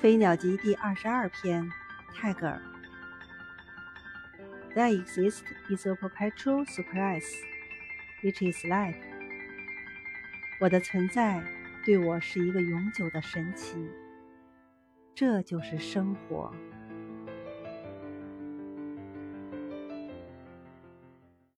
飞鸟集第22篇，泰戈尔。There exists is a perpetual surprise, which is life. 我的存在对我是一个永久的神奇，这就是生活。